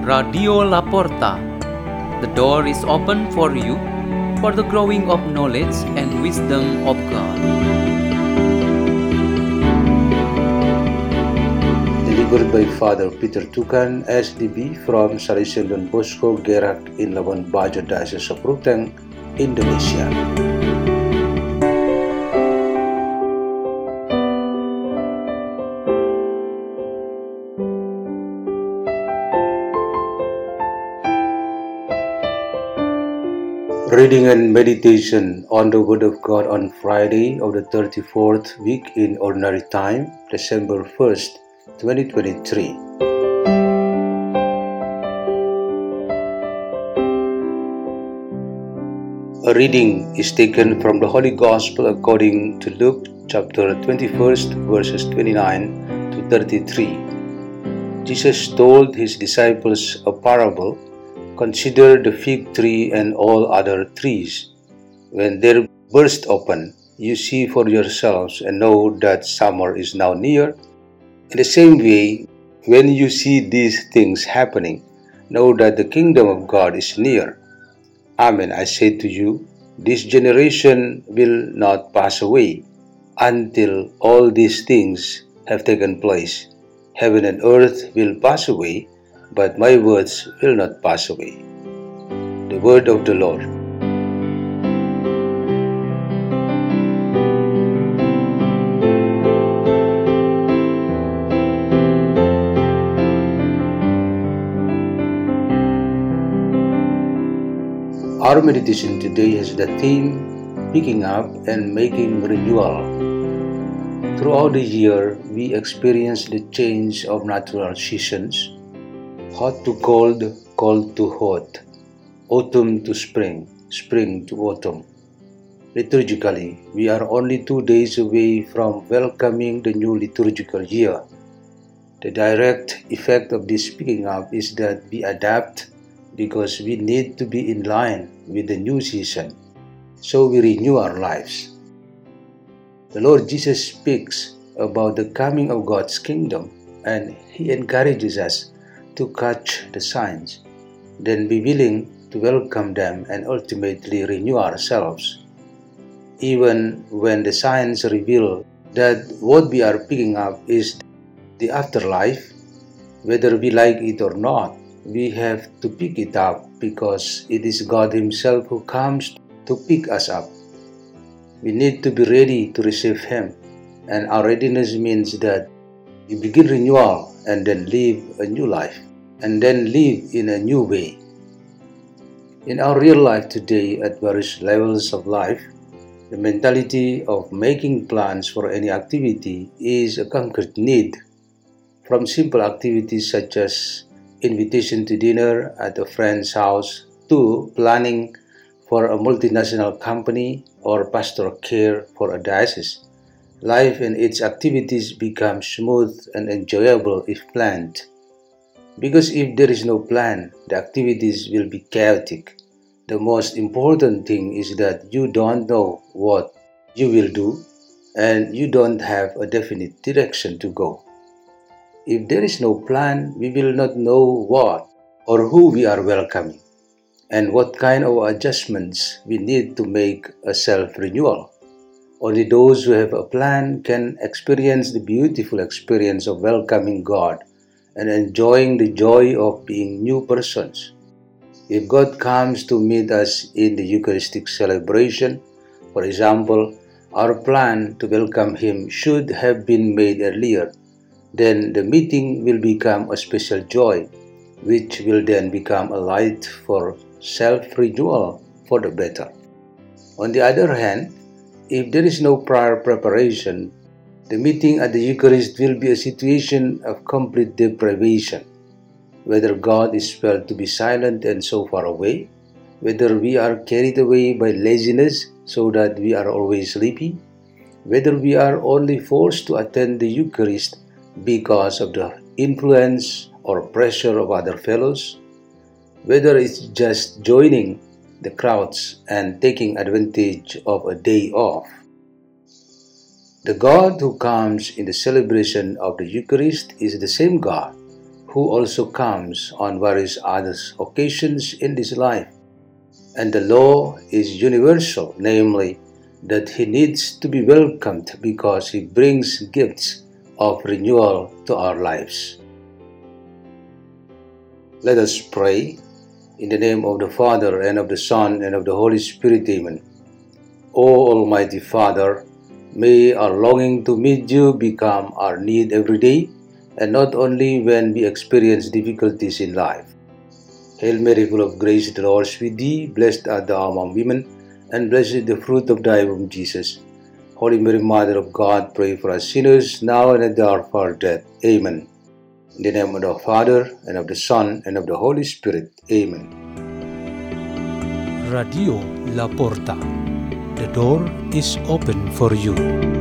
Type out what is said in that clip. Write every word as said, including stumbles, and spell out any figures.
Radio La Porta. The door is open for you for the growing of knowledge and wisdom of God. Delivered by Father Peter Tukan, S D B from Salesian Don Bosco Gerak in Labuan Bajo, Diocese of Ruteng, Indonesia. Reading and meditation on the Word of God on Friday of the thirty-fourth week in Ordinary Time, December first, twenty twenty-three. A reading is taken from the Holy Gospel according to Luke chapter twenty-first, verses twenty-nine to thirty-three. Jesus told his disciples a parable. Consider the fig tree and all other trees. When they burst open, you see for yourselves and know that summer is now near. In the same way, when you see these things happening, know that the kingdom of God is near. Amen, I say to you, this generation will not pass away until all these things have taken place. Heaven and earth will pass away, but my words will not pass away. The word of the Lord. Our meditation today has the theme, picking up and making renewal. Throughout the year, we experience the change of natural seasons. Hot to cold, cold to hot, autumn to spring, spring to autumn. Liturgically, we are only two days away from welcoming the new liturgical year. The direct effect of this picking up is that we adapt because we need to be in line with the new season, so we renew our lives. The Lord Jesus speaks about the coming of God's kingdom, and He encourages us to catch the signs, then be willing to welcome them and ultimately renew ourselves. Even when the signs reveal that what we are picking up is the afterlife, whether we like it or not, we have to pick it up because it is God Himself who comes to pick us up. We need to be ready to receive Him, and our readiness means that we begin renewal and then live a new life, and then live in a new way. In our real life today, at various levels of life, the mentality of making plans for any activity is a concrete need. From simple activities such as invitation to dinner at a friend's house to planning for a multinational company or pastoral care for a diocese, life and its activities become smooth and enjoyable if planned. Because if there is no plan, the activities will be chaotic. The most important thing is that you don't know what you will do and you don't have a definite direction to go. If there is no plan, we will not know what or who we are welcoming and what kind of adjustments we need to make a self-renewal. Only those who have a plan can experience the beautiful experience of welcoming God and enjoying the joy of being new persons. If God comes to meet us in the Eucharistic celebration, for example, our plan to welcome Him should have been made earlier, then the meeting will become a special joy, which will then become a light for self-renewal for the better. On the other hand, if there is no prior preparation, the meeting at the Eucharist will be a situation of complete deprivation. Whether God is felt to be silent and so far away, whether we are carried away by laziness so that we are always sleepy, whether we are only forced to attend the Eucharist because of the influence or pressure of other fellows, whether it's just joining the crowds and taking advantage of a day off. The God who comes in the celebration of the Eucharist is the same God who also comes on various other occasions in this life. And the law is universal, namely, that he needs to be welcomed because he brings gifts of renewal to our lives. Let us pray. In the name of the Father, and of the Son, and of the Holy Spirit, Amen. O Almighty Father, may our longing to meet you become our need every day, and not only when we experience difficulties in life. Hail Mary, full of grace, the Lord is with thee. Blessed art thou among women, and blessed is the fruit of thy womb, Jesus. Holy Mary, Mother of God, pray for us sinners, now and at the hour of our death. Amen. In the name of the Father, and of the Son, and of the Holy Spirit. Amen. Radio La Porta. The door is open for you.